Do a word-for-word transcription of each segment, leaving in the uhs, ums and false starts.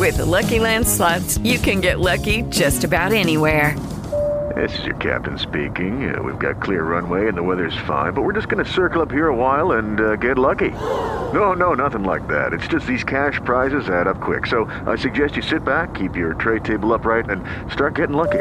With Lucky Land Slots, you can get lucky just about anywhere. This is your captain speaking. Uh, we've got clear runway and the weather's fine, but we're just going to circle up here a while and uh, get lucky. No, no, nothing like that. It's just these cash prizes add up quick. So I suggest you sit back, keep your tray table upright, and start getting lucky.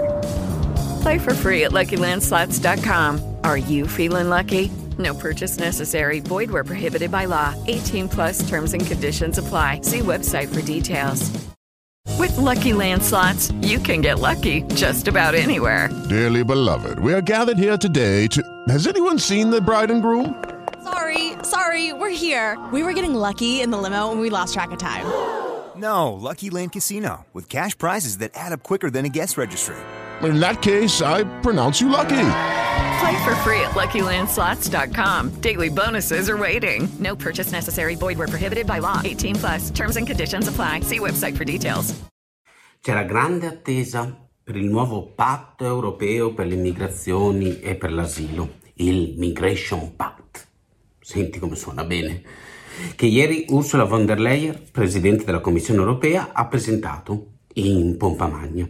Play for free at Lucky Land Slots dot com. Are you feeling lucky? No purchase necessary. Void where prohibited by law. eighteen plus terms and conditions apply. See website for details. With Lucky Land Slots, you can get lucky just about anywhere. Dearly beloved, we are gathered here today to... Has anyone seen the bride and groom? Sorry, sorry, we're here. We were getting lucky in the limo and we lost track of time. No, Lucky Land Casino, with cash prizes that add up quicker than a guest registry. In that case, I pronounce you lucky. Play for free at Lucky Land Slots dot com. Daily bonuses are waiting. No purchase necessary. Void where prohibited by law. eighteen plus. Terms and conditions apply. See website for details. C'era grande attesa per il nuovo patto europeo per le migrazioni e per l'asilo, il Migration Pact. Senti come suona bene. Che ieri Ursula von der Leyen, presidente della Commissione europea, ha presentato in pompa magna.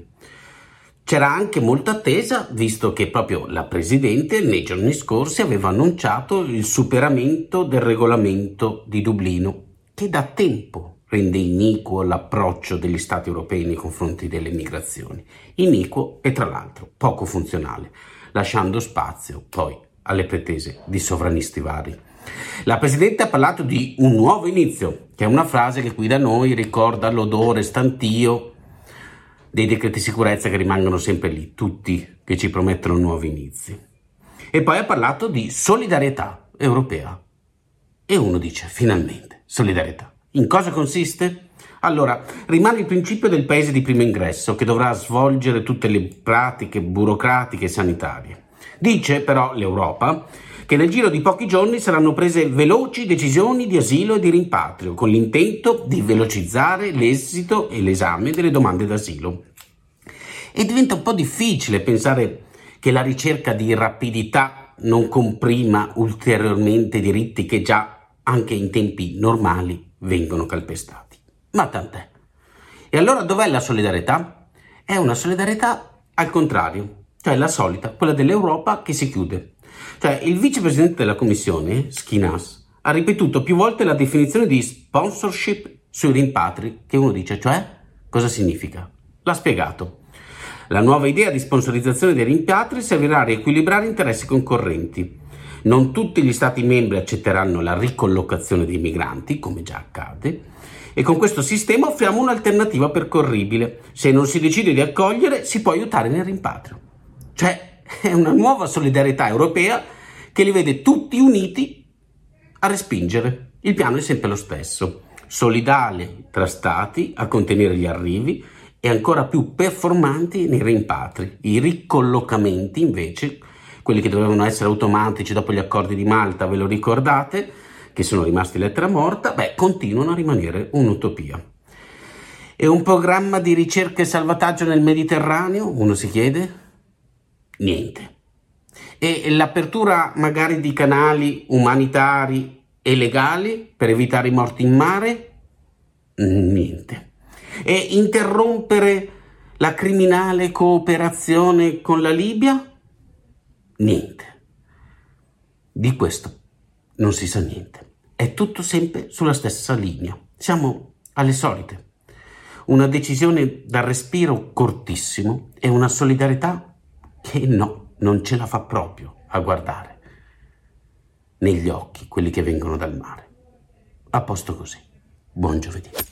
C'era anche molta attesa, visto che proprio la Presidente nei giorni scorsi aveva annunciato il superamento del regolamento di Dublino, che da tempo rende iniquo l'approccio degli Stati europei nei confronti delle migrazioni. Iniquo e tra l'altro poco funzionale, lasciando spazio poi alle pretese di sovranisti vari. La Presidente ha parlato di un nuovo inizio, che è una frase che qui da noi ricorda l'odore stantio dei decreti sicurezza che rimangono sempre lì, tutti che ci promettono nuovi inizi. E poi ha parlato di solidarietà europea. E uno dice, finalmente, solidarietà. In cosa consiste? Allora, rimane il principio del paese di primo ingresso, che dovrà svolgere tutte le pratiche burocratiche e sanitarie. Dice però l'Europa che nel giro di pochi giorni saranno prese veloci decisioni di asilo e di rimpatrio, con l'intento di velocizzare l'esito e l'esame delle domande d'asilo. E diventa un po' difficile pensare che la ricerca di rapidità non comprima ulteriormente diritti che già, anche in tempi normali, vengono calpestati. Ma tant'è. E allora dov'è la solidarietà? È una solidarietà al contrario, cioè la solita, quella dell'Europa che si chiude. Cioè il vicepresidente della Commissione, Schinas, ha ripetuto più volte la definizione di sponsorship sui rimpatri, che uno dice, cioè, cosa significa? L'ha spiegato. La nuova idea di sponsorizzazione dei rimpatri servirà a riequilibrare interessi concorrenti. Non tutti gli Stati membri accetteranno la ricollocazione dei migranti, come già accade, e con questo sistema offriamo un'alternativa percorribile. Se non si decide di accogliere, si può aiutare nel rimpatrio. Cioè, è una nuova solidarietà europea che li vede tutti uniti a respingere. Il piano è sempre lo stesso: solidale tra stati a contenere gli arrivi e ancora più performanti nei rimpatri. I ricollocamenti, invece, quelli che dovevano essere automatici dopo gli accordi di Malta, ve lo ricordate, che sono rimasti lettera morta, beh, continuano a rimanere un'utopia. E un programma di ricerca e salvataggio nel Mediterraneo? Uno si chiede? Niente. E l'apertura magari di canali umanitari e legali per evitare i morti in mare? Niente. E interrompere la criminale cooperazione con la Libia? Niente. Di questo non si sa niente. È tutto sempre sulla stessa linea. Siamo alle solite. Una decisione dal respiro cortissimo e una solidarietà che no, non ce la fa proprio a guardare negli occhi quelli che vengono dal mare. A posto così. Buon giovedì.